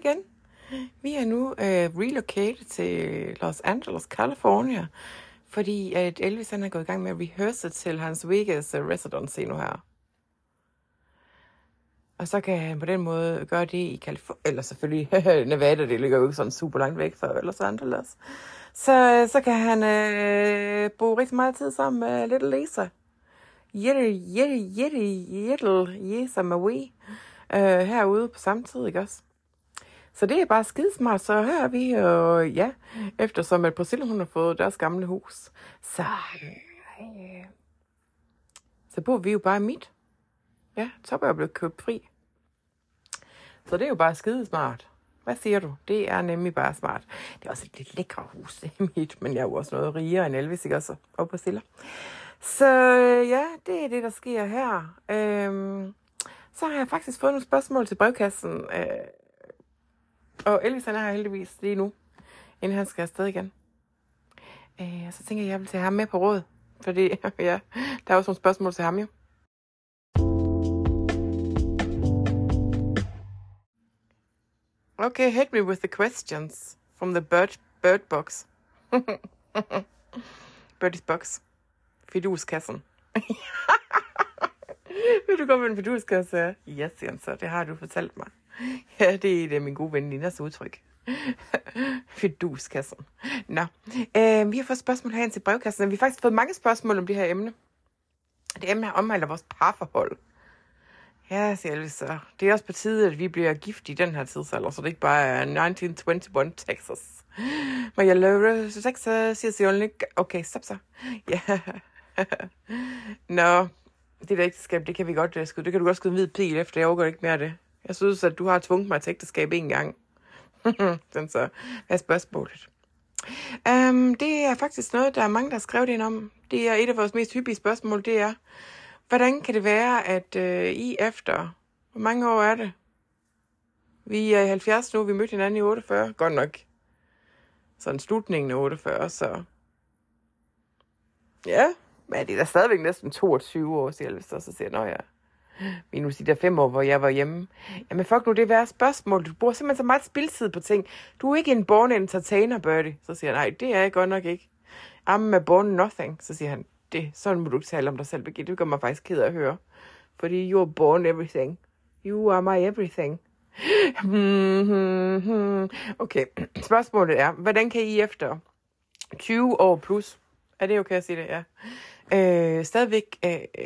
igen. Vi er nu relocated til Los Angeles, California, fordi at Elvis han er gået i gang med at rehearse til hans Vegas residency nu her. Og så kan han på den måde gøre det i Californien, eller selvfølgelig Nevada, det ligger jo ikke sådan super langt væk fra Los Angeles. Så kan han bruge rigtig meget tid sammen med Little Lisa. Lisa Marie. Herude på samme tid, ikke også? Så det er bare skidesmart. Så her er vi, eftersom at Priscilla hun har fået deres gamle hus, så bor vi jo bare midt. Ja, så er jeg blevet købt fri. Så det er jo bare skidesmart. Hvad siger du? Det er nemlig bare smart. Det er også et lidt lækre hus, det er mit, men jeg er jo også noget rigere end Elvis, ikke også? Og Priscilla. Så ja, det er det, der sker her. Så har jeg faktisk fået nogle spørgsmål til brevkassen. Og Elvis han er her heldigvis lige nu, inden han skal afsted igen. Så tænker jeg vil tage ham med på råd. Fordi ja, der er også nogle spørgsmål til ham jo. Okay, hit me with the questions from the bird box. Birdie's box. Fiduskassen. Vil du gå med en fiduskasse? Ja, siger han så. Det har du fortalt mig. Ja, det er min gode ven Linas udtryk. Fiduskassen. Nå, vi har fået spørgsmål herinde til brevkassen. Vi har faktisk fået mange spørgsmål om det her emne. Det emne her omhandler vores parforhold. Ja, siger Elvis så. Det er også på tide, at vi bliver gift i den her tidsalder, så det ikke bare er 1921 Texas. Men jeg lover Texas, siger only. Okay, stop så. Ja. Nå, det der ægteskab, det kan vi godt skyde. Det kan du godt skyde en hvid pil efter. Jeg overgår ikke mere af det. Jeg synes, at du har tvunget mig til ægteskab en gang. Sådan så. Hvad er spørgsmålet? Det er faktisk noget, der er mange, der har skrevet ind om. Det er et af vores mest hyppige spørgsmål, det er, hvordan kan det være, at I efter, hvor mange år er det? Vi er i 70 nu, vi mødte hinanden i 48, godt nok. Sådan slutningen af 48, så ja, men det er da stadigvæk næsten 22 år, siger Elvis, så siger jeg, ja. Minus de der 5 år, hvor jeg var hjemme. Jamen fuck nu, det er værre spørgsmål. Du bruger simpelthen så meget spildtid på ting. Du er ikke en born entertainer, Birdie. Så siger han, nej, det er jeg godt nok ikke. I'm a born nothing. Så siger han, sådan må du ikke tale om dig selv, Birgitte. Det gør mig faktisk ked af at høre. Fordi you're born everything. You are my everything. Okay, spørgsmålet er, hvordan kan I efter 20 år plus, er det okay at sige det? Ja. Stadigvæk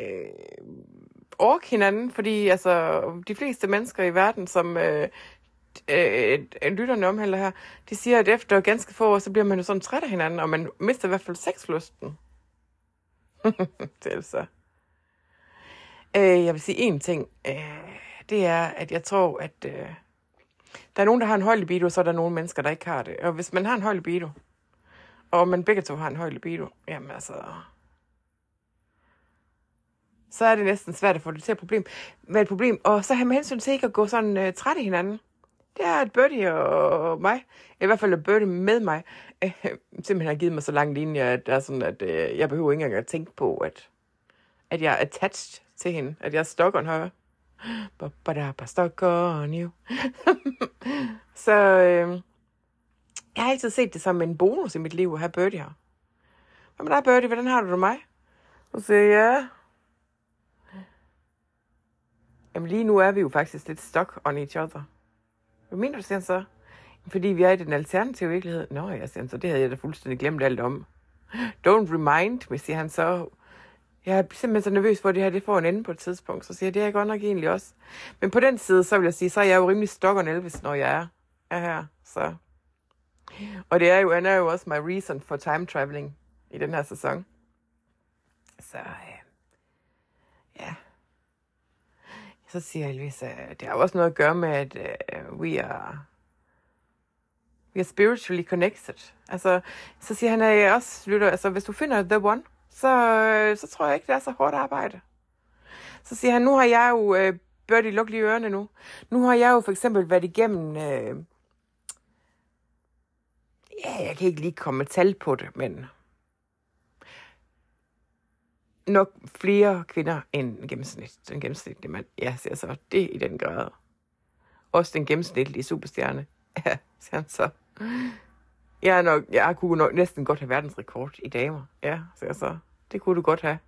orke hinanden, fordi altså, de fleste mennesker i verden, som lytterne omhandler her, de siger, at efter ganske få år, så bliver man jo sådan træt af hinanden, og man mister i hvert fald sexlysten. Det er så. Jeg vil sige én ting. Det er, at jeg tror, at der er nogen, der har en høj libido, så er der nogle mennesker, der ikke har det. Og hvis man har en høj libido, og man begge to har en høj libido, jamen altså, så er det næsten svært at få det til at være et problem. Og så har man hensyn til ikke at gå sådan træt af hinanden. Det er, at Birdie og mig, i hvert fald at Birdie med mig, simpelthen har givet mig så lang linje, at det er sådan, at jeg behøver ikke engang at tænke på, at jeg er attached til hende. At jeg er stuck on her. Stuck on you. Så jeg har altid set det som en bonus i mit liv at have Birdie her. Hvad med dig, Birdie? Hvordan har du det mig? Så siger jeg, ja. Jamen lige nu er vi jo faktisk lidt stuck on each other. Hvad mener du, siger han så? Fordi vi er i den alternative virkelighed. Nå, jeg siger han så, det havde jeg da fuldstændig glemt alt om. Don't remind me, siger han så. Jeg er simpelthen så nervøs for, at det her det får en ende på et tidspunkt. Så siger jeg, det er jeg godt nok egentlig også. Men på den side, så vil jeg sige, så er jeg jo rimelig stuck on Elvis, når jeg er her. Så. Og det er jo, han er jo også my reason for time traveling i den her sæson. Så ja. Så siger Elvis, det har også noget at gøre med, at we are spiritually connected. Altså, så siger han, at jeg også lytter, altså hvis du finder the one, så tror jeg ikke, det er så hårdt arbejde. Så siger han, nu har jeg jo, Birdie, luk lige ørerne nu. Nu har jeg jo for eksempel været igennem, jeg kan ikke lige komme med tal på det, men nok flere kvinder end den gennemsnitlige mand. Ja, siger så, det i den grad. Også den gennemsnitlige superstjerne. Ja, siger han så. Jeg kunne nok næsten godt have verdensrekord i damer. Ja, siger så. Det kunne du godt have.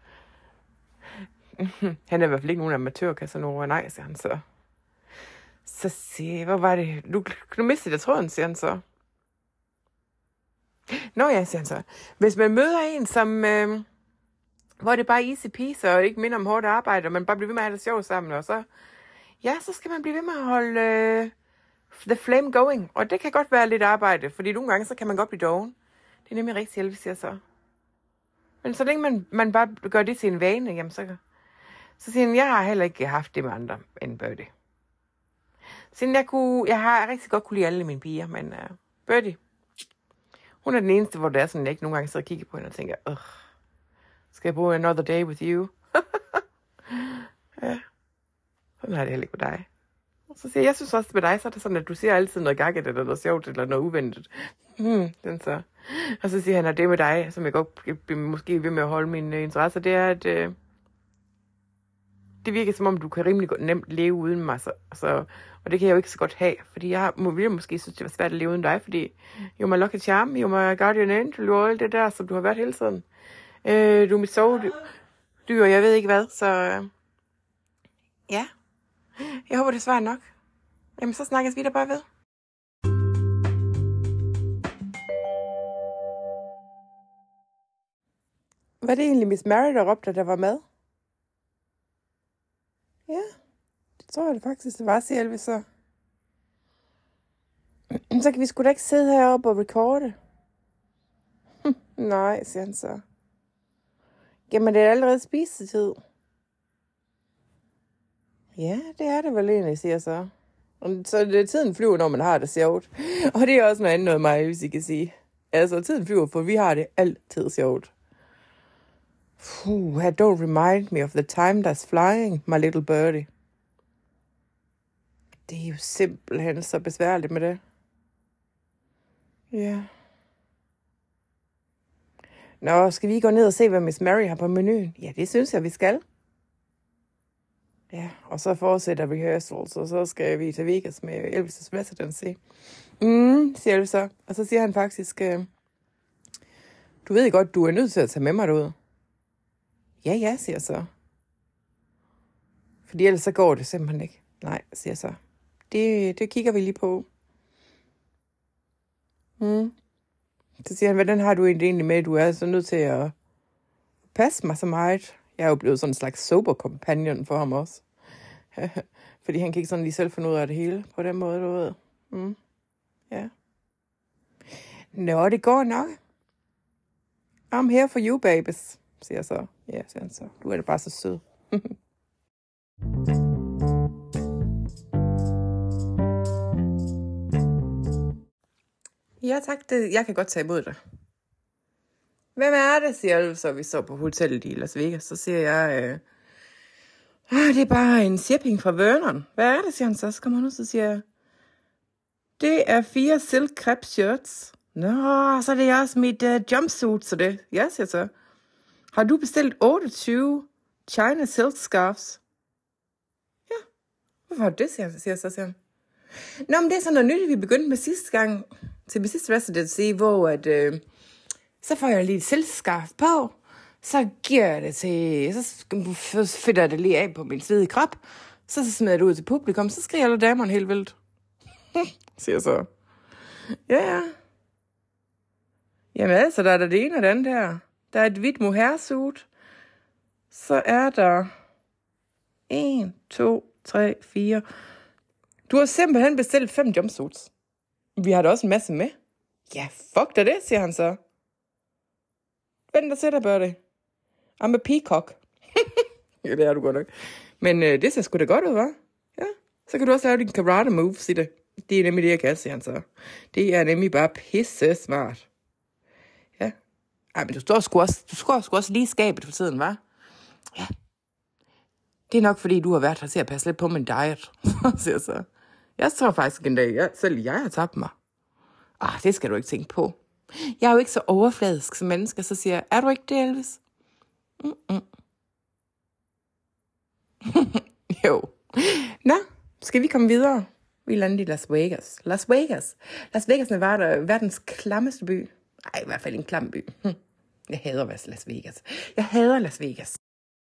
Han er i hvert fald ikke nogen amatør, Casanova. Nej, siger han så. Så siger jeg, hvor var det? Du mistede jeg tråden, siger han så. Nå ja, siger han så. Hvis man møder en, som, hvor det bare er easy peasy, og ikke minder om hårdt arbejde, og man bare bliver ved med at have det sjovt sammen, og så skal man blive ved med at holde the flame going. Og det kan godt være lidt arbejde, fordi nogle gange, så kan man godt blive doven. Det er nemlig rigtig hjælp, siger jeg så. Men så længe man bare gør det til en vane, jamen så siger han, jeg har heller ikke haft det med andre end Birdie. Siden jeg har rigtig godt kunne lide alle mine piger, men Birdie, hun er den eneste, hvor det er sådan, jeg ikke nogle gange sidder og kigger på hende og tænker, skal jeg bruge another day with you? Ja, sådan har det heller ikke med dig. Og så siger jeg synes også med dig, så er det sådan, at du siger altid noget gakket, eller noget sjovt, eller noget uventet. Den så. Og så siger han, at det med dig, som jeg godt måske ved med at holde mine interesser, det er, at det virker som om, du kan rimelig nemt leve uden mig. Og det kan jeg jo ikke så godt have, fordi jeg ville måske synes, det var svært at leve uden dig, fordi you're my lucky charm, you're my guardian angel, og alt det der, som du har været hele tiden. Du er mit sovedyr, og jeg ved ikke hvad, så ja. Jeg håber, det svarer nok. Jamen, så snakkes vi der bare ved. Var det egentlig Miss Mary, der råbte, der var mad? Ja, det tror jeg det faktisk, det var, siger Elvis så. Så kan vi sgu da ikke sidde heroppe og recorde. Nej, siger han så. Jamen, det er allerede spisetid. Ja, det er det vel egentlig, siger så. Så tiden flyver, når man har det sjovt. Og det er også noget andet noget mig, hvis I kan sige. Altså, tiden flyver, for vi har det altid sjovt. Don't remind me of the time that's flying, my little birdie. Det er jo simpelthen så besværligt med det. Ja. Nå, skal vi gå ned og se, hvad Miss Mary har på menuen? Ja, det synes jeg, vi skal. Ja, og så fortsætter rehearsals, og så skal vi til Vegas med Elvis' Residency. Siger Elvis så. Og så siger han faktisk, du ved godt, du er nødt til at tage med mig derud. Ja, siger så. Fordi ellers så går det simpelthen ikke. Nej, siger så. Det kigger vi lige på. Så siger han, hvordan har du egentlig med, du er så nødt til at passe mig så meget. Jeg er jo blevet sådan en slags sober companion for ham også. Fordi han kan ikke sådan lige selv finde ud af det hele på den måde, du ved. Ja. Nå, det går nok. I'm here for you, babies, siger jeg så. Ja, siger han så. Du er da bare så sød. Ja, tak. Jeg kan godt tage imod dig. Hvem er det, siger du, så vi så på hotellet i Las Vegas. Så siger jeg, det er bare en shipping fra Vernon. Hvad er det, siger han så? Så kommer han ud, så siger jeg, det er 4 silk crepe shirts. Nå, så er det også mit jumpsuit, så det. Ja, siger så. Har du bestilt 28 China silk scarves? Ja. Hvorfor har du det, siger han. Nå, men det er sådan noget nyt, vi begyndte med sidste gang, til min sidste residency, hvor at, så får jeg lige et silkscarf på, så giver jeg det til, så fedter jeg det lige af på min svedige krop, så smider jeg det ud til publikum, så skriger alle damerne helt vildt. Siger så. Ja. Jamen altså, der er der det ene og det andet her. Der er et hvidt mohairsuit. Så er der 1, 2, 3, 4. Du har simpelthen bestilt 5 jumpsuits. Vi har da også en masse med. Ja, fuck da det, siger han så. Vent og sætter, Birdie. I'm a peacock. Ja, det er du godt nok. Men det ser sgu da godt ud, hva'? Ja, så kan du også lave din karate moves i det. Det er nemlig det, jeg kan, siger han så. Det er nemlig bare pisse smart. Ja. Ej, men du står sgu også lige i skabet for tiden, hva'? Ja. Det er nok, fordi du har været her til at passe lidt på min diet, siger så. Jeg tror faktisk en dag, selv jeg har tabt mig. Det skal du ikke tænke på. Jeg er jo ikke så overfladisk som menneske, så siger jeg, er du ikke det, Elvis? Jo. Nå, skal vi komme videre? Vi landede i Las Vegas. Las Vegas, Nevada, verdens klammeste by. Nej, i hvert fald en klam by. Jeg hader Las Vegas. Las Vegas.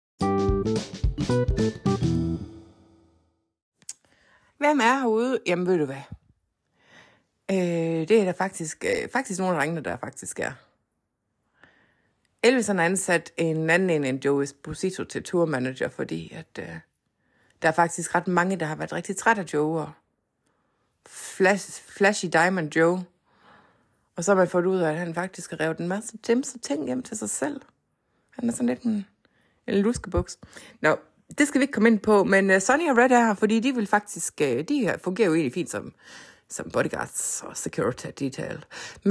Hvem er herude? Jamen, ved du hvad? Det er der faktisk nogle af drengene, der faktisk er. Elvis har ansat en anden end Joe Esposito til tourmanager, fordi at, der er faktisk ret mange, der har været rigtig træt af Joe og Flashy Diamond Joe. Og så har man fået ud af, at han faktisk har revet en masse ting hjem til sig selv. Han er sådan lidt en luskebuks. Nå, det skal vi ikke komme ind på, men Sonny og Red er her, fordi de vil faktisk, de her fungerer jo egentlig fint som bodyguards og security detail.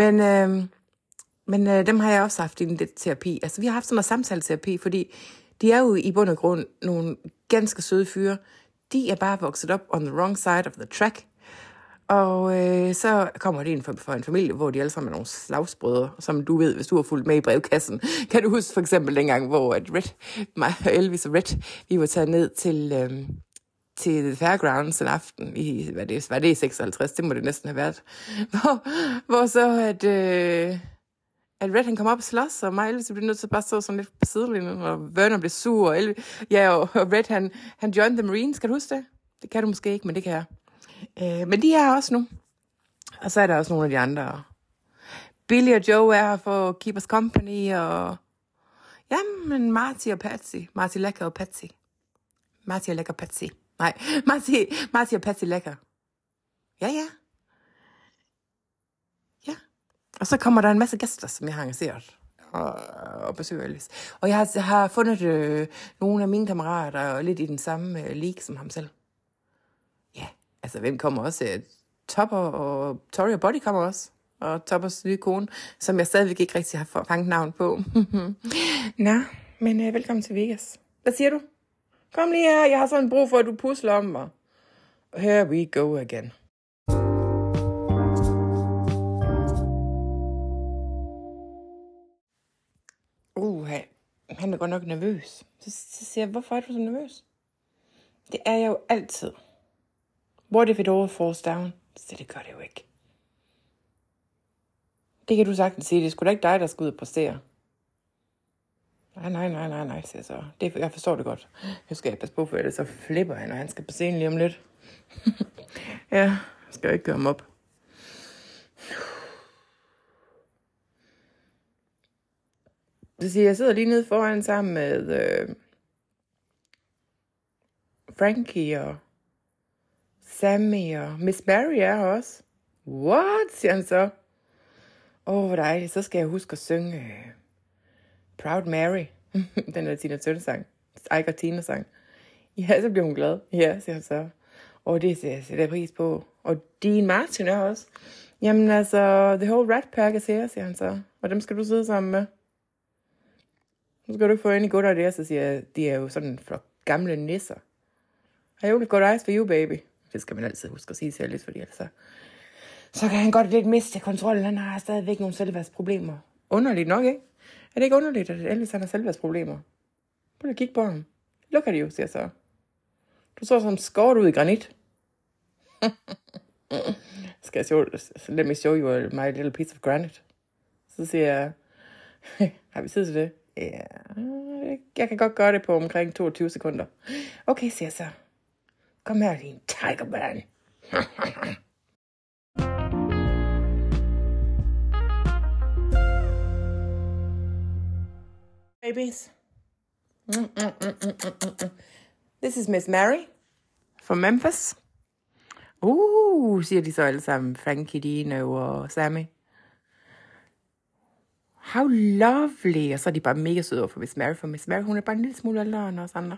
Men dem har jeg også haft i en lidt terapi. Altså, vi har haft sådan noget samtaleterapi, fordi de er jo i bund og grund nogle ganske søde fyre. De er bare vokset op on the wrong side of the track. Og så kommer de ind for en familie, hvor de alle sammen er nogle slagsbrødre, som du ved, hvis du har fulgt med i brevkassen. Kan du huske for eksempel dengang, hvor mig og Elvis og Red, vi var taget ned til The Fairgrounds en aften i, hvad det er 56, det må det næsten have været, hvor så at Red han kom op og slås, og mig og Elvis blev nødt til at bare stå sådan lidt på sidelinjen, og Werner blev sur, og Red han joined the Marines, kan du huske det? Det kan du måske ikke, men det kan jeg. Men de er her også nu. Og så er der også nogle af de andre. Billy og Joe er her for Keep Us Company, og jamen Marty og Patsy. Marty Lækker og Patsy. Marty og Lækker Patsy. Nej, Marty og Patsy Lækker. Ja. Og så kommer der en masse gæster, som jeg har engageret og besøger Elvis. Og jeg har fundet nogle af mine kammerater lidt i den samme league som ham selv. Ja, altså hvem kommer også? Topper og Tori og Buddy kommer også. Og Toppers nye kone, som jeg stadigvæk ikke rigtig har fanget navn på. Nå, men velkommen til Vegas. Hvad siger du? Kom lige her, jeg har sådan brug for, at du pusler om mig. Here we go again. Han er godt nok nervøs. Så siger jeg, hvorfor er du så nervøs? Det er jeg jo altid. What if it all falls down? Så det gør det jo ikke. Det kan du sagtens sige. Det er sgu da ikke dig, der skal ud og præstere. Nej, siger jeg så. Jeg forstår det godt. Nu skal jeg passe på, for det så flipper han, og han skal på scenen lige om lidt. Ja, jeg skal ikke gøre ham op. Så siger jeg sidder lige nede foran sammen med Frankie og Sammy og Miss Mary er her også. What, siger han så. Hvor dejligt. Så skal jeg huske at synge Proud Mary. Den der Tina Turner-sang. Ike og Tina-sang. Ja, så bliver hun glad. Ja, siger han så. Det ser jeg pris på. Og Dean Martin er også. Jamen altså, the whole Rat Pack er her, siger han så. Og dem skal du sidde sammen med. Nu skal du ikke få ind i godt af det, så siger jeg, de er jo sådan for gamle nisser. I only got eyes for you, baby. Det skal man altid huske at sige til Alice, fordi altså, så kan han godt lidt miste kontrollen. Han har stadigvæk nogle selvværdsproblemer. Underligt nok, ikke? Er det ikke underligt, at Elvis han har selvværdsproblemer? Prøv at kigge på ham. Look at you, siger jeg så. Du så som skåret ud i granit. Skal jeg let me show you my little piece of granite. Så siger jeg, har vi tid til det? Ja, jeg kan godt gøre det på omkring 22 sekunder. Okay, siger jeg så. Kom her, din tigerman. Babies. This is Miss Mary from Memphis. Siger de så alle sammen. Frankie, Dino og Sammy. How lovely. Og så er de bare mega søde over for Miss Mary. For Miss Mary, hun er bare en lille smule ældre end os andre.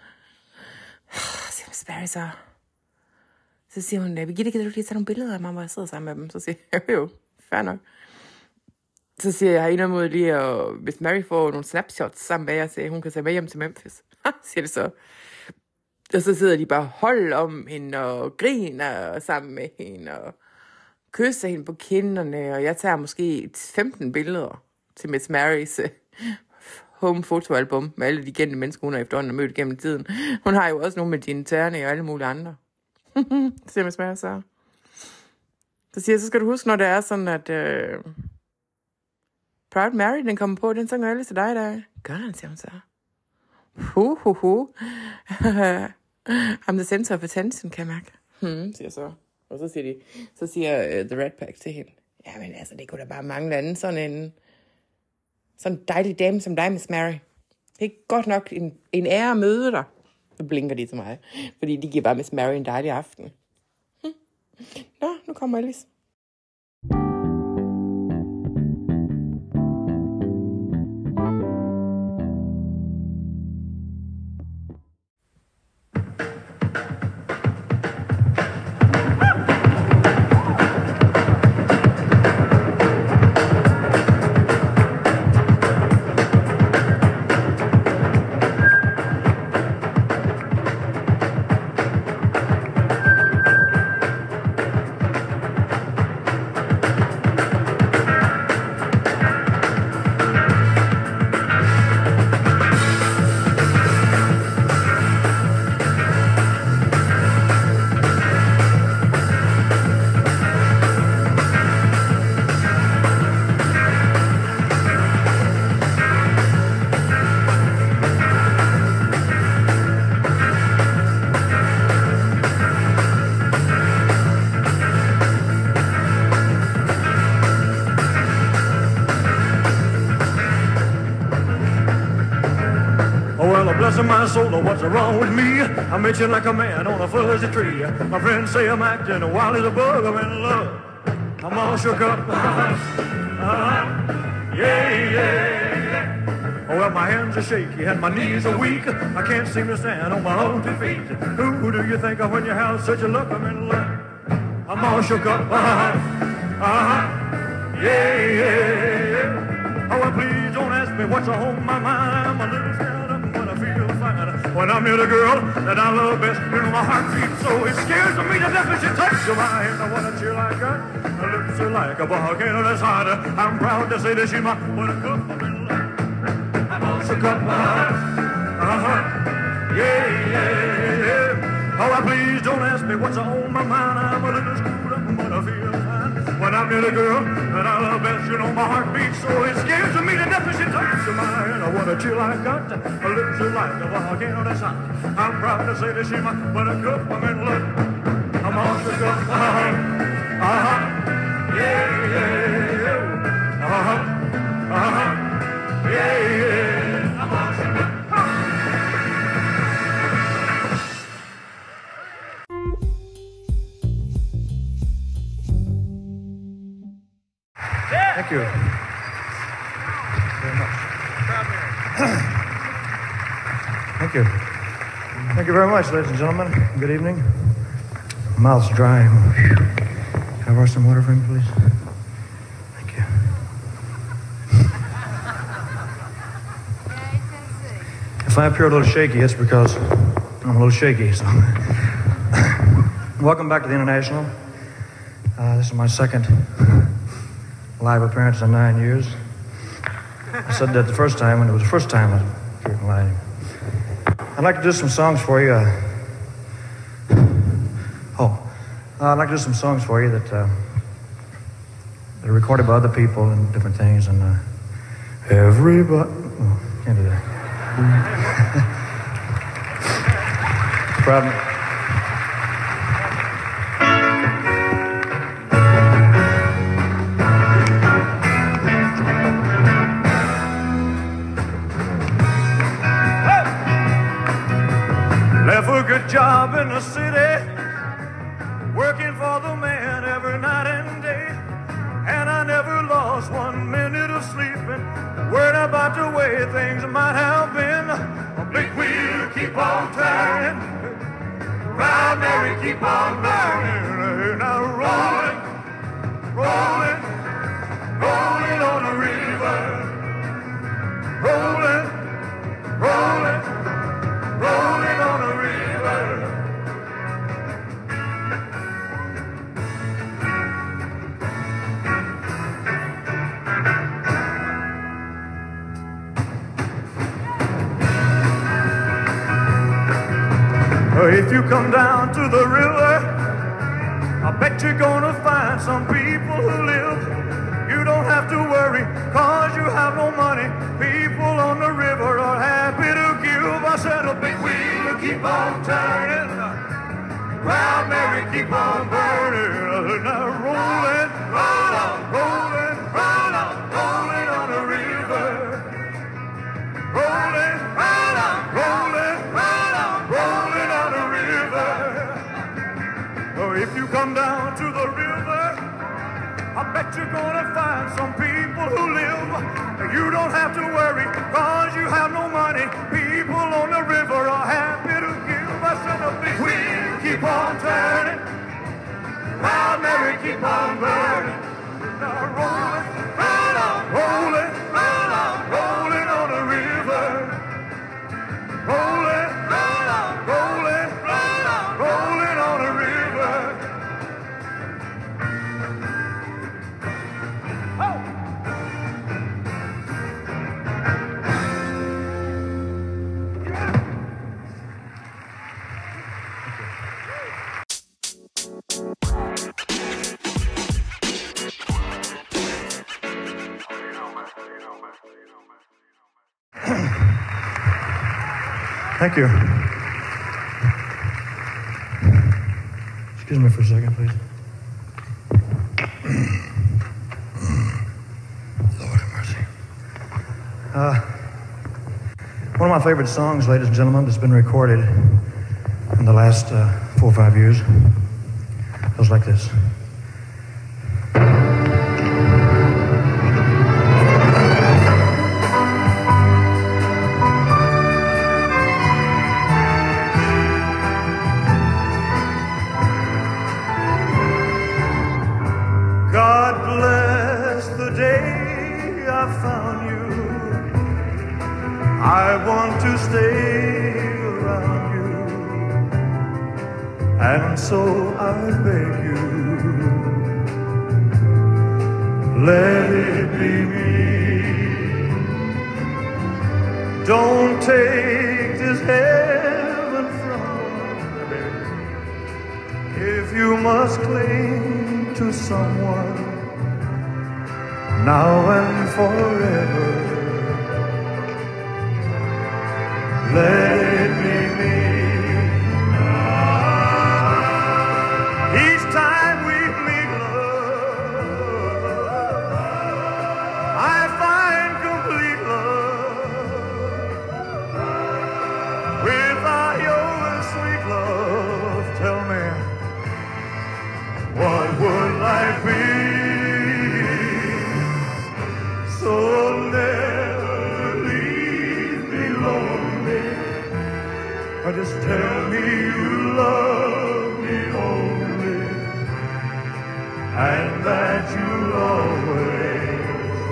Så siger Miss Mary så. Så siger hun, Birgitte, kan du lige tage nogle billeder af mig, hvor jeg sidder sammen med dem? Så siger jeg, jo, fair nok. Så siger jeg, jeg har mod lige, og Miss Mary får nogle snapshots sammen med jer, så hun kan tage med hjem til Memphis. Siger det så. Og så sidder de bare hold om hende, og griner sammen med hende, og kysser hende på kinderne, og jeg tager måske 15 billeder til Miss Marys home fotoalbum med alle de kendte mennesker, hun har efterhånden mødt gennem tiden. Hun har jo også nogle med Gina Turner og alle mulige andre. siger Miss Mary så. Så siger jeg, så skal du huske, når det er sådan, at Proud Mary, den kommer på, den sang alle til dig der. Gør han, siger hun så. I'm the center of attention, kan jeg mærke. Siger så. Og så siger The Rat Pack til hende. Jamen altså, det kunne da bare mangle anden sådan en dejlig dame som dig, Miss Mary. Det er godt nok en ære at møde dig. Så blinker de til mig, fordi de giver bare Miss Mary en dejlig aften. Nå, nu kommer Elvis. Bless my soul, what's wrong with me? I'm itching like a man on a fuzzy tree. My friends say I'm acting wild as a bug. I'm in love. I'm all shook up. Yeah. Oh, well, my hands are shaky and my knees are weak. I can't seem to stand on my own 2 feet. Who do you think of when you have such a look? I'm in love. I'm all shook up. Yeah. Oh, well, please don't ask me what's on my mind. I'm a little scared up when I feel fine. When I'm near the girl that I love best, you know my heart beats so it scares me to death when she touches my hand. I want to chill like her, her lips are like a volcano that's hot. I'm proud to say that she's my buttercup. I'm in love. I'm all shook up. Yeah. Oh, please don't ask me what's on my mind. I'm a little screwed up, but I feel fine. When I'm near the girl that I love best, you know my heart beats so it scares me to death when she touches my hand. I want a chill like got, a lips are like a volcano that's hot. I'm proud to say that she's my buttercup. I'm in love. I'm all shook up. Yeah. I'm all shook up. Thank you very much. Thank you. Thank you very much, ladies and gentlemen. Good evening. Mouth's dry. Can I borrow some water for me, please? Thank you. If I appear a little shaky, it's because I'm a little shaky. So, welcome back to the International. This is my second live appearance in 9 years. I said that the first time when it was the first time I appeared live. I'd like to do some songs for you. I'd like to do some songs for you that are recorded by other people and different things. And everybody, can't do that. Problem. Good job in the city, working for the man every night and day, and I never lost 1 minute of sleeping, worried about the way things might have been. A big wheel keep on turning, Proud Mary keep on burning, now rolling, rolling, rolling on the river, rolling, rolling, rolling on the river. Oh, if you come down to the river, I bet you're gonna find some people who live. You don't have to worry, cause you have no money. People on the river are happy to give. I said a big wheel will keep on turning, Proud Mary keep on burning. Now rolling, right on, rolling, right on, rolling on the river. Rolling, right on, rolling, right on, rolling on the river. Oh, if you come down to the river, I bet you're gonna find some people who live. You don't have to worry, cause you have no money. People on the river are happy to give. I said a big wheel keep on turning, Proud Mary keep on burning. Now rolling, right on, rolling, right on, rolling on the river. Rolling, right on, rolling, right on, rolling on the river. Thank you. Excuse me for a second, please. Lord have mercy. One of my favorite songs, ladies and gentlemen, that's been recorded in the last 4 or 5 years goes like this. I want to stay around you, and so I beg you, let it be me. Don't take this heaven from me. If you must cling to someone now and forever, let it be me. Each time we meet, love, I find complete love. Without your sweet love, tell me, what would life be? So never leave me lonely. Just tell me you love me only, and that you'll always,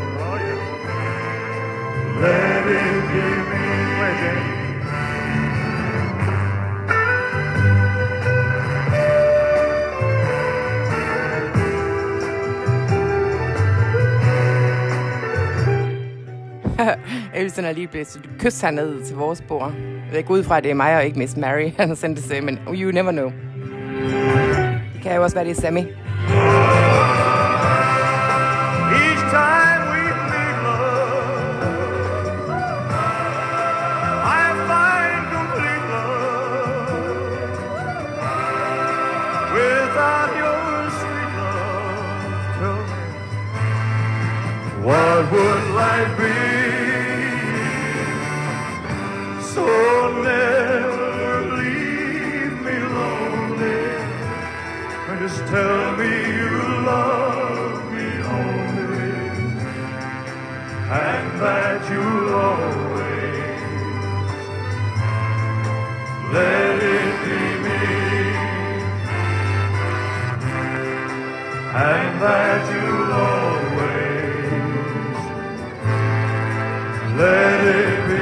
let it be me. Elsen er lige blevet kys hernede til vores bord. Jeg går ud fra, at det er mig og ikke Miss Mary, han har sendt det til, men you never know. Det kan jo også være, det er Sammy. Each time we meet, love, I find complete love. Without your sweet love, tell me, what would life be? So never leave me lonely, and just tell me you love me only, and that you'll always, let it be me, and that you'll always, let it be me.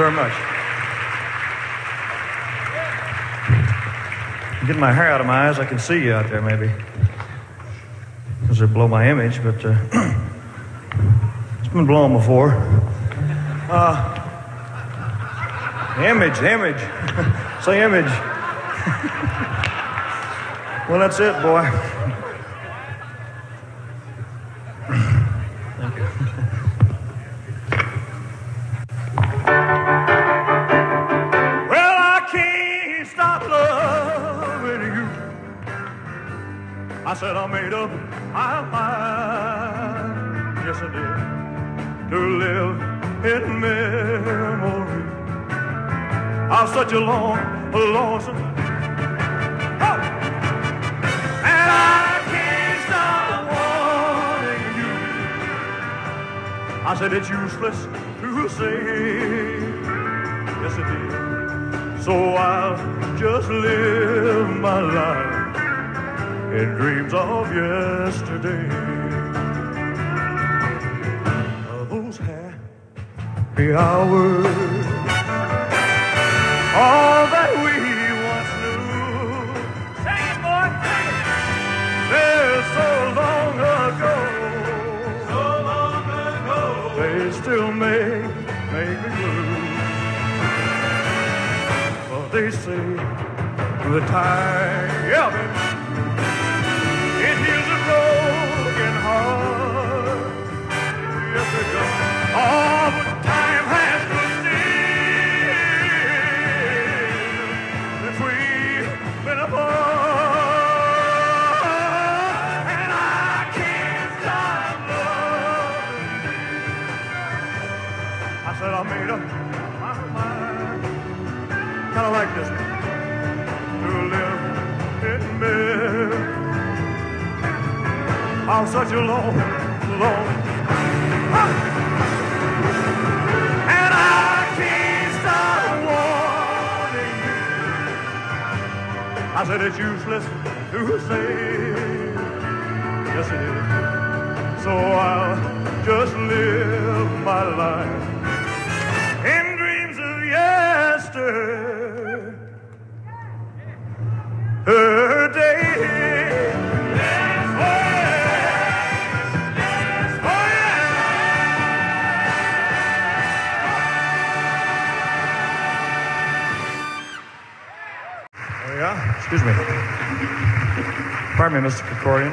very much. I'm getting my hair out of my eyes. I can see you out there, maybe. Because they blow my image, but it's been blown before. Image. Say image. Well, that's it, boy. Thank you. Well, I can't stop loving you. I said I made up my mind. Yes, I did. To live in memory of such a lonesome. Oh! And I can't stop wanting you. I said it's useless to say. Yes, it is. So I'll just live my life in dreams of yesterday. Those happy hours, all that we once knew. Sing it, boy, sing it. They're so long ago. So long ago. They still make me blue. Well, they say the time, yeah, baby, it heals a broken heart. Yes, it does. Oh, but time has to been apart, and I can't stop loving you. I said I made up my mind, kind of like this, to live in bed. I'm such a long, and I can't stop wanting you. I said it's useless to say. Yes, it is. So I'll just live my life in dreams of yesterday. Excuse me. Pardon me, Mr. Krikorian.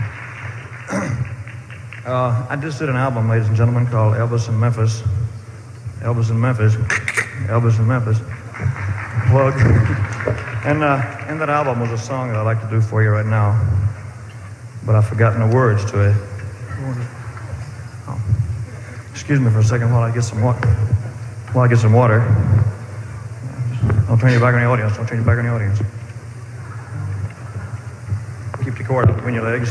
I just did an album, ladies and gentlemen, called Elvis in Memphis. Elvis in Memphis. Elvis in Memphis. Plug. And in that album was a song that I'd like to do for you right now. But I've forgotten the words to it. Oh. Excuse me for a second while I get some water. Don't turn your back on the audience. Keep the cord between your legs.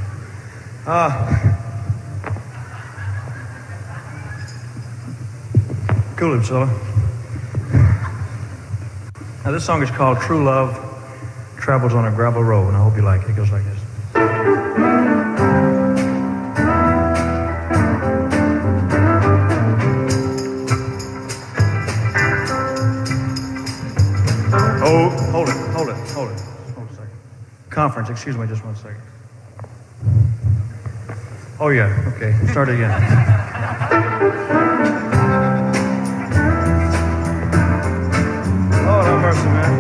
Cool it, fella. Now this song is called True Love Travels on a Gravel Road, and I hope you like it. It goes like this. Oh, hold it. Hold a second. Conference, excuse me, just 1 second. Oh yeah, okay, start again. Lord have mercy, man.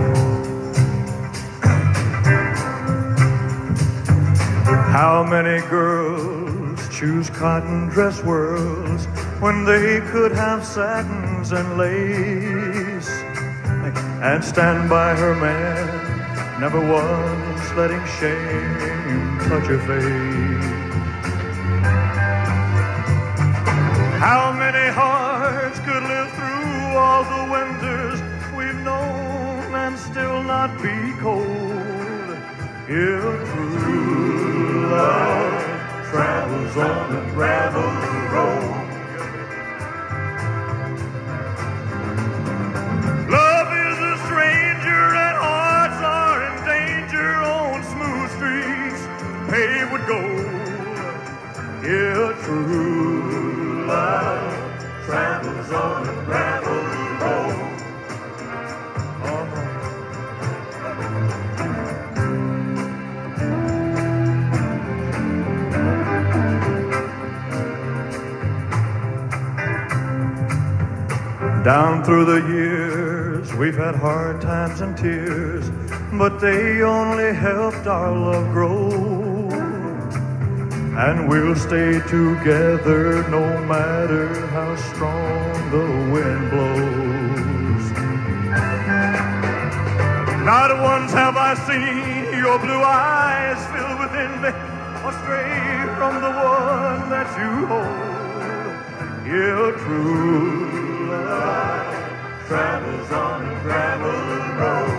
How many girls choose cotton dress whirls when they could have satins and lace and stand by her man, never once letting shame touch her face? How many hearts could live through all the winters we've known and still not be cold if true love travels on the gravel road? Love is a stranger and hearts are in danger on smooth streets paved with gold. Yeah, true love travels on the gravel road. Down through the years, we've had hard times and tears, but they only helped our love grow. And we'll stay together no matter how strong the wind blows. Not once have I seen your blue eyes filled with envy or stray from the one that you hold. Your true love travels on a gravel road.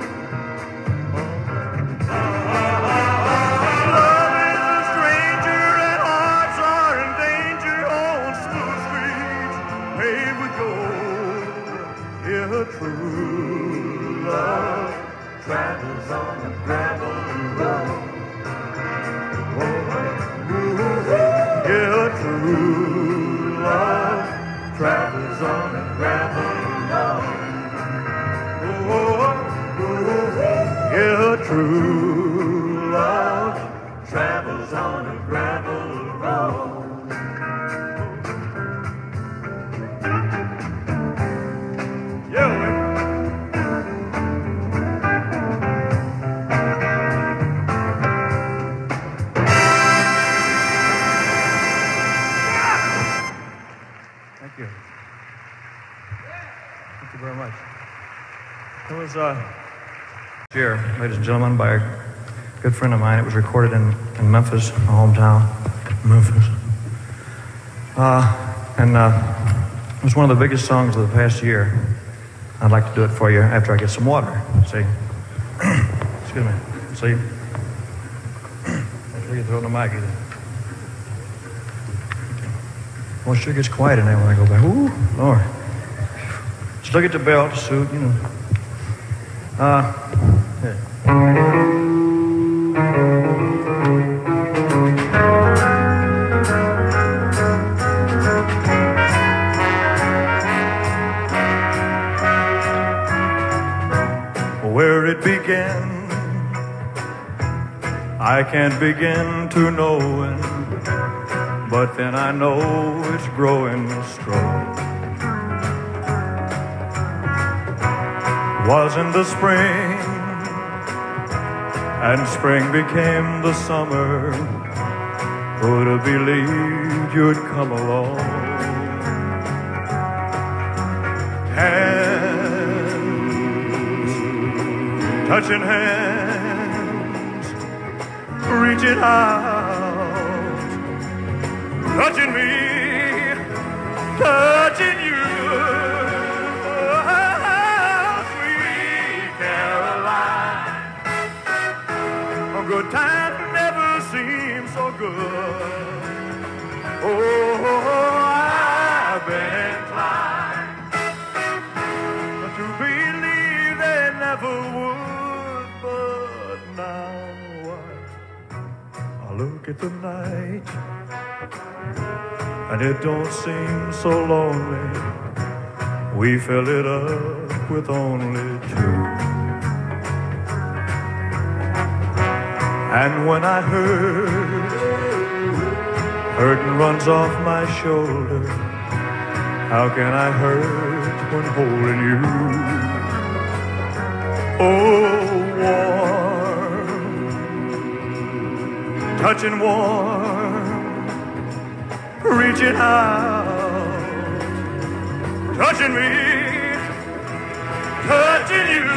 Love is a stranger and hearts are in danger on smooth streets paved with gold. Your true love travels on a gravel road. Your true love travels on a gravel road. Your true love travels on a gravel road. Here, ladies and gentlemen, by a good friend of mine. It was recorded in Memphis, my hometown, Memphis. It was one of the biggest songs of the past year. I'd like to do it for you after I get some water. See? Excuse me. See? Make sure you throw it in the mic either. Well, it sure gets quiet in there when I go back. Ooh, Lord. Just look at the belt, the suit, you know. Yeah. Where it began, I can't begin to know it, but then I know it's growing strong. Was in the spring, and spring became the summer. Who'd have believed you'd come along? Hands, touching hands, reaching out, touching me, touching you. Good times never seem so good. Oh, I've been inclined to believe they never would, but now I look at the night and it don't seem so lonely. We fill it up with only two. And when I hurtin' runs off my shoulder, how can I hurt when holding you? Oh, warm, touching warm, reaching out, touching me, touching you.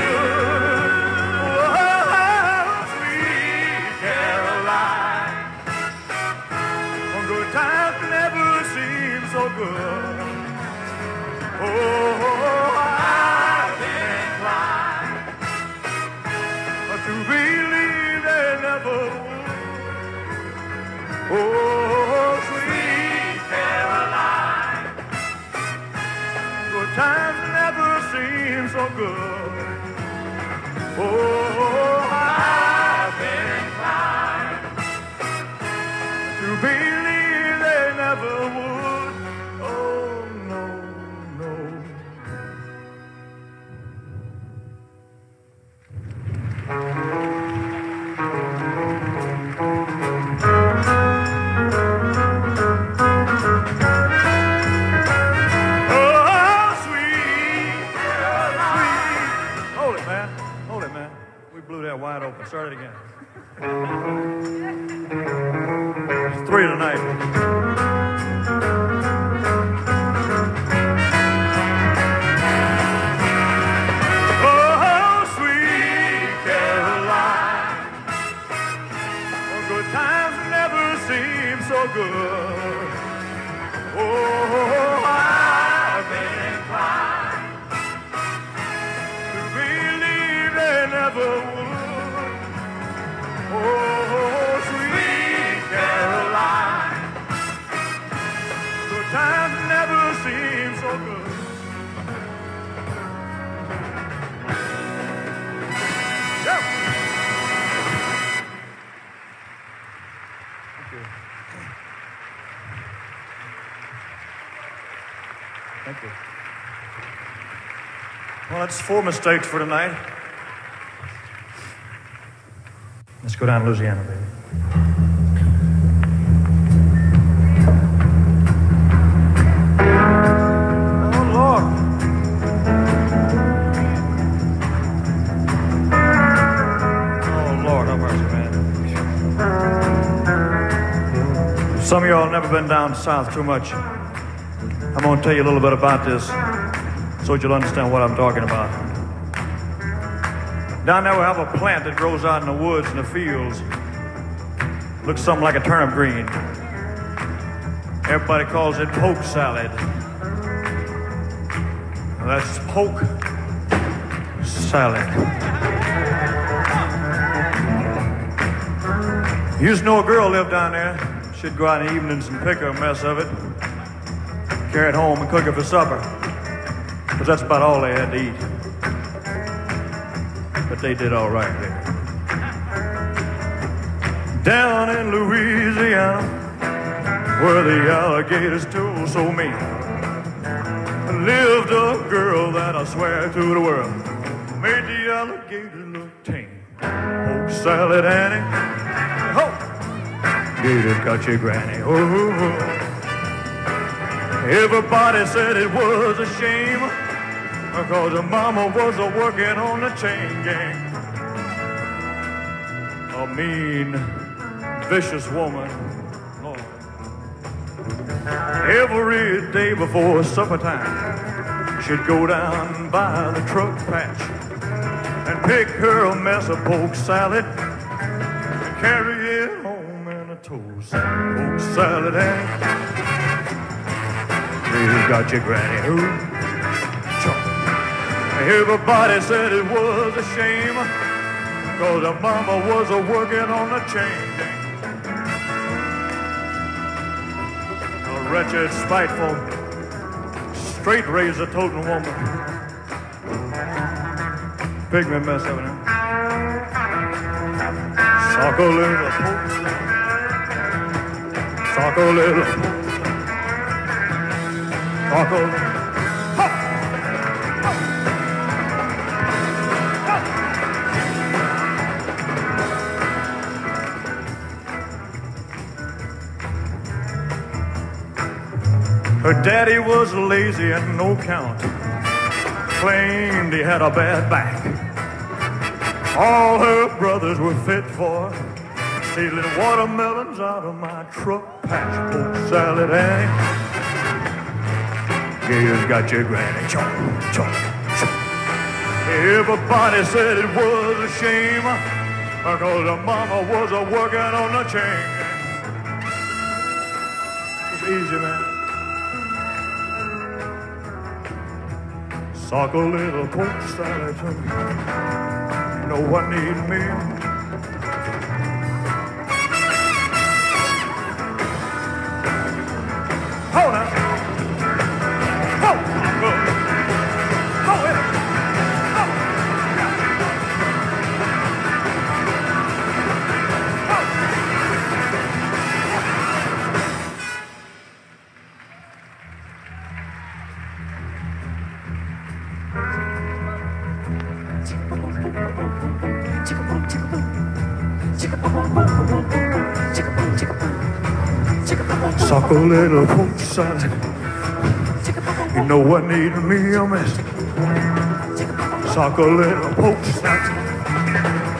Times never seem so good. Oh, I've been inclined to believe they never would. Oh, sweet Caroline, good times never seem so good. Oh, I've been inclined to believe never would. Oh, no, no. Oh, sweet We blew that wide open. Start it again. It's 3 tonight. Oh, sweet Caroline, oh, good times never seem so good. Oh, I've been inclined to believe they never would. Oh, sweet Caroline, good times never seem so good. Yeah. Thank you. Thank you. Well, that's 4 mistakes for tonight. Let's go down to Louisiana, baby. Oh, Lord. Oh, Lord, have mercy, man. Some of y'all have never been down south too much. I'm going to tell you a little bit about this so that you'll understand what I'm talking about. Down there we have a plant that grows out in the woods and the fields. Looks something like a turnip green. Everybody calls it poke salad. Well, that's poke salad. Used to know a girl lived down there. She'd go out in the evenings and pick a mess of it, carry it home and cook it for supper. Because that's about all they had to eat. But they did all right there. Down in Louisiana, where the alligators told so mean, lived a girl that I swear to the world made the alligators look tame. Oh, salad Annie, oh, gators got your granny. Oh, everybody said it was a shame because her mama was working on the chain gang. A mean, vicious woman. Lord. Every day before supper time, she'd go down by the truck patch and pick her a mess of poke salad and carry it home in a toast. Poke salad, Annie. You got your granny. Ooh. Everybody said it was a shame because her mama was working on the chain gang. A wretched, spiteful, straight razor toting woman. Pigment mess of it. Sock a little poke. Sock a little poke. Sock a little. Her daddy was lazy and no count, claimed he had a bad back. All her brothers were fit for stealing watermelons out of my truck patch. Poke salad, Annie. Gators got your granny. Chomp, chomp, chomp. Everybody said it was a shame because her mama was working on the chain. It's easy, man. Sock a little poke salad to me. You know what need me? Hold on. Hold. Go. Go in. Go. Sock a little poke salad. You know what need me a mess. Sock a little poke salad.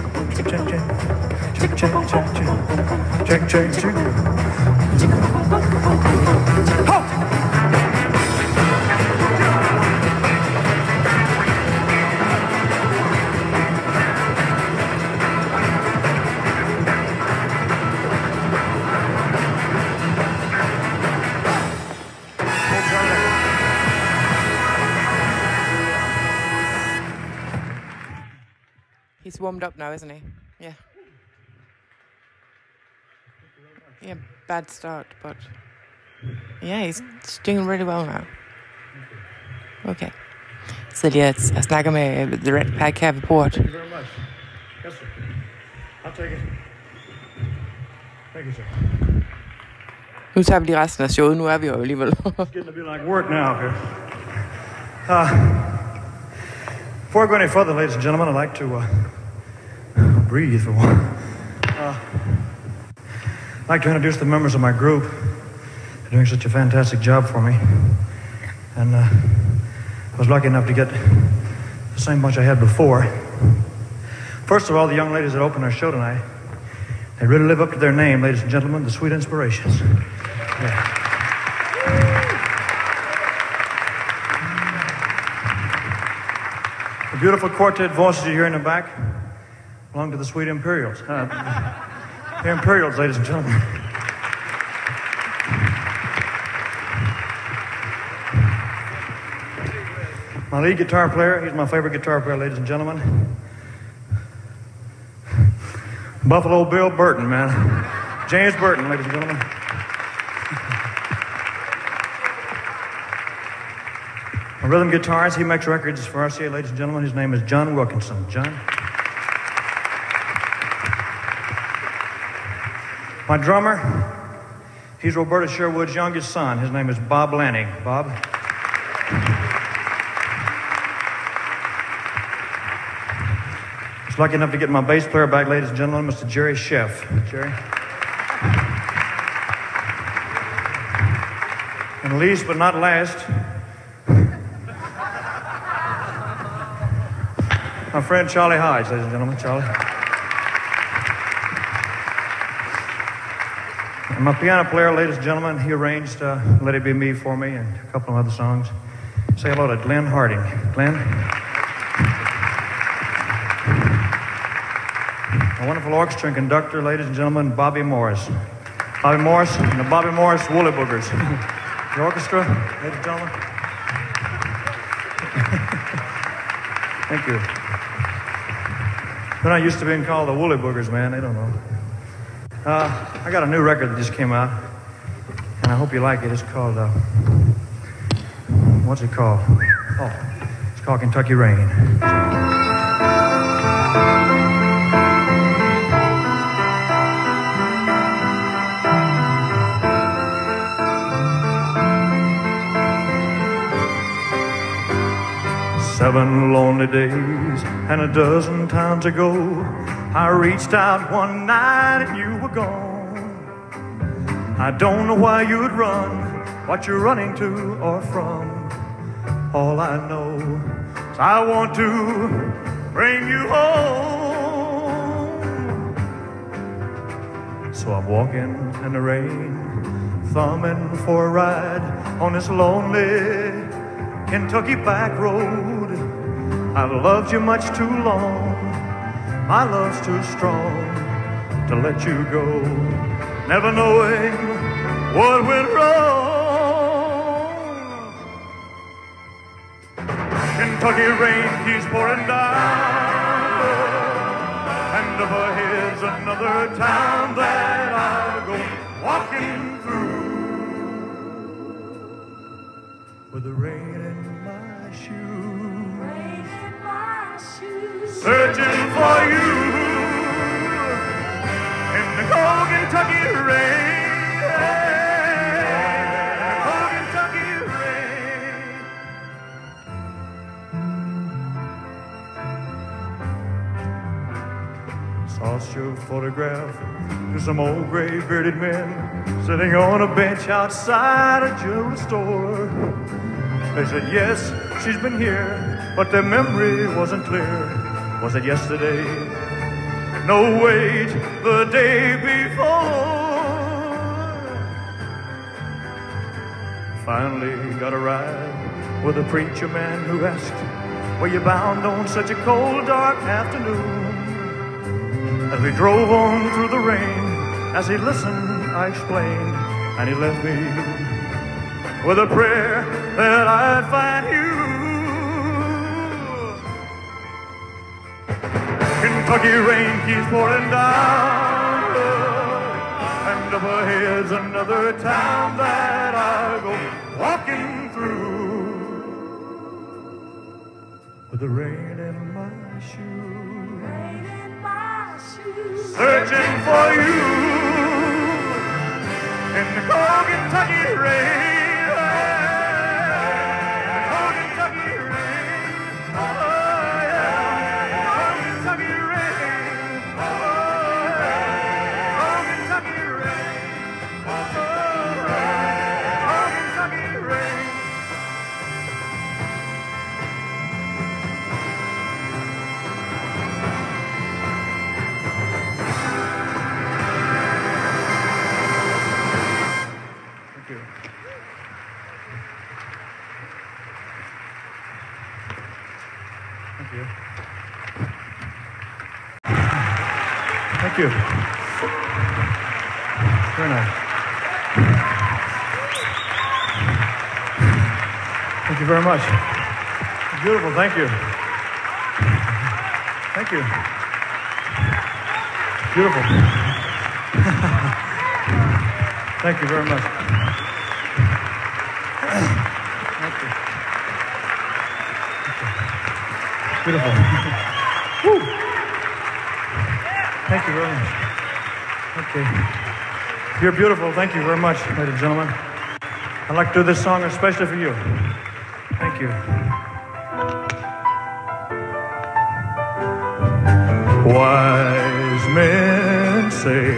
He's warmed up now, isn't he? Yeah. Yeah, bad start, but yeah, he's doing really well now. Okay. Så jeg snakker med The Red Pack her ved bordet. Thank you very much. Yes, sir. I'll take it. Thank you, sir. Nu tager vi lige resten af showet. Nu er vi jo alligevel. It's getting to be like work now here. Before I go any further, ladies and gentlemen, I'd like to breathe for one. I'd like to introduce the members of my group. They're doing such a fantastic job for me. And I was lucky enough to get the same bunch I had before. First of all, the young ladies that opened our show tonight, they really live up to their name, ladies and gentlemen, the Sweet Inspirations. Yeah. The beautiful quartet voices you hear in the back belong to the Sweet Imperials. The Imperials, ladies and gentlemen. My lead guitar player, he's my favorite guitar player, ladies and gentlemen. Buffalo Bill Burton, man. James Burton, ladies and gentlemen. My rhythm guitarist, he makes records for RCA, ladies and gentlemen. His name is John Wilkinson. John. My drummer, he's Roberta Sherwood's youngest son. His name is Bob Lanning. Bob. I was lucky enough to get my bass player back, ladies and gentlemen, Mr. Jerry Sheff. Jerry. And least but not last, my friend Charlie Hodge, ladies and gentlemen. Charlie. And my piano player, ladies and gentlemen, he arranged Let It Be Me for me and a couple of other songs. Say hello to Glenn Harding. Glenn. A wonderful orchestra and conductor, ladies and gentlemen, Bobby Morris. Bobby Morris and the Bobby Morris Woolly Boogers. The orchestra, ladies and gentlemen. Thank you. They're not used to being called the Woolly Boogers, man. They don't know. I got a new record that just came out, and I hope you like it. It's called, what's it called? Oh, it's called Kentucky Rain. 7 lonely days and a dozen times ago, I reached out one night and you were gone. I don't know why you'd run, what you're running to or from. All I know is I want to bring you home. So I'm walking in the rain, thumbing for a ride on this lonely Kentucky back road. I've loved you much too long, my love's too strong to let you go. Never knowing what went wrong. Kentucky rain keeps pouring down, and up ahead's another town that I'll go walking through with the rain in my searching for you in the cold Kentucky rain. Cold Kentucky rain. Toss your photograph to some old gray-bearded men sitting on a bench outside a jewelry store. They said, yes, she's been here, but their memory wasn't clear. Was it yesterday? No, wait, the day before. Finally got a ride with a preacher man who asked, were you bound on such a cold, dark afternoon? As we drove on through the rain, as he listened, I explained, and he left me with a prayer that I'd find you. Kentucky rain keeps pouring down, and up ahead's another town that I'll go walking through with the rain in my shoes. Searching for you in the cold Kentucky rain. Cold Kentucky rain. Oh, yeah. Cold Kentucky rain. Oh, yeah. Cold Kentucky rain. Oh, yeah. Cold Kentucky rain. Thank you. Very nice. Thank you very much. Beautiful, thank you. Thank you. Beautiful. Thank you very much. Thank you. Beautiful. Woo. Thank you very much. Okay. You're beautiful. Thank you very much, ladies and gentlemen. I'd like to do this song especially for you. Thank you. Wise men say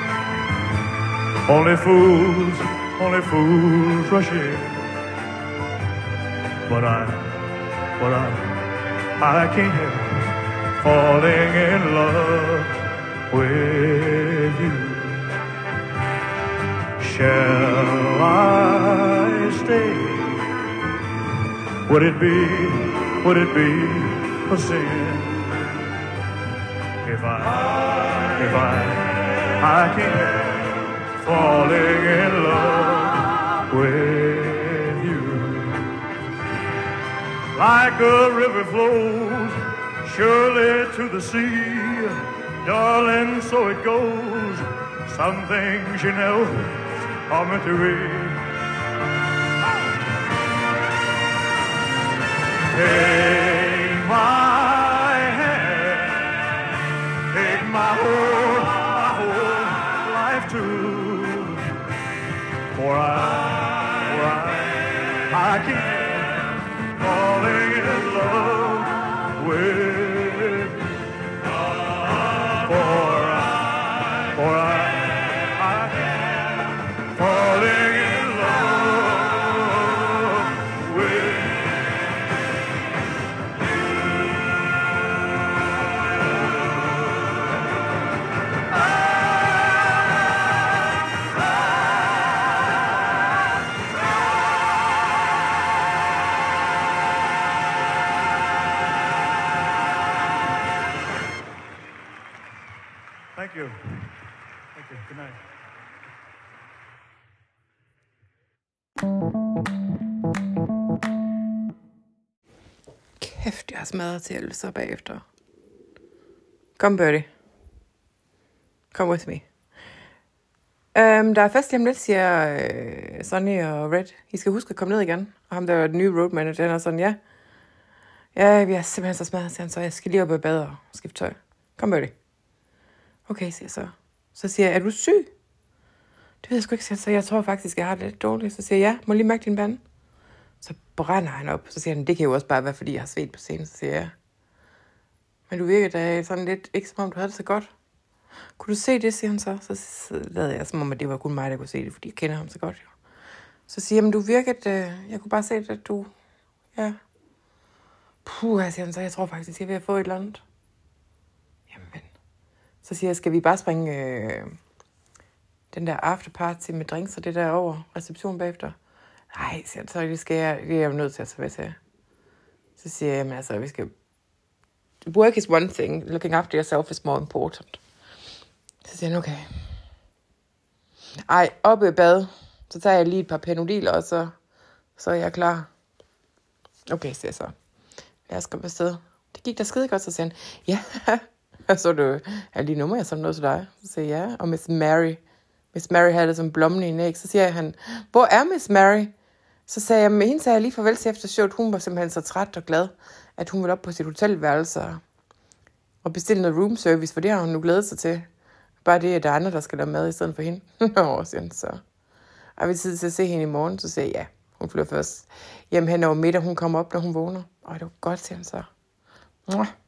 only fools rush in. But I can't help falling in love with you. Shall I stay? Would it be a sin if I can't help falling in love with you? Like a river flows surely to the sea, darling, so it goes. Some things, you know, are meant to be. Take my hand, take my whole life too, for I can't falling in love with. Thank you. Thank you. Good night. Kæft, jeg har smadret til så bagefter. Kom, Birdie. Come with me. Der er fest lige om lidt, siger Sonny og Red. I skal huske at komme ned igen. Og ham, der er den nye road manager, han er sådan, ja. Ja, vi er simpelthen så smadret, siger han så. Jeg skal lige op i bad og skifte tøj. Kom med det. Okay, siger jeg så. Så siger jeg, er du syg? Det ved jeg sgu ikke, siger han så. Jeg tror faktisk, jeg har det lidt dårligt. Så siger jeg, ja, må lige mærke din pande. Så brænder han op. Så siger han, det kan jo også bare være, fordi jeg har svedt på scenen. Så siger jeg, men du virker da sådan lidt, ikke som om du havde det så godt. Kunne du se det, siger han så. Så lavede jeg, som om at det var kun mig, der kunne se det, fordi jeg kender ham så godt. Jo. Så siger jeg, men du virkede, jeg kunne bare se det, at du, ja. Siger han så, jeg tror faktisk, jeg vil have fået et eller andet. Jamen. Så siger jeg, skal vi bare springe den der afterparty med drinks og det der over reception bagefter? Nej, siger han så, det er jeg jo nødt til at tage til. Så siger jeg, jamen altså, vi skal... Work is one thing, looking after yourself is more important. Så siger han, okay. Ej, oppe i bad, så tager jeg lige et par Panodil, og så er jeg klar. Okay, siger jeg så. Lad os komme afsted. Det gik da skide godt, så siger han, ja, så du, er lige nummer, jeg sådan noget til dig? Så siger jeg, ja, og Miss Mary. Miss Mary havde det som blommen i en æg. Så siger han, hvor er Miss Mary? Så sagde jeg, med hende sagde jeg lige farvel til efter showet. Hun var simpelthen så træt og glad, at hun ville op på sit hotelværelse og bestille noget room service, for det har hun nu glædet sig til. Bare det, at der er andre, der skal lave mad i stedet for hende. Nå, siger han så. Og vi tid til at se hende i morgen, så siger jeg, ja, hun flyver først hjem hen over middag. Hun kommer op, når hun vågner. Og det var godt, siger han så.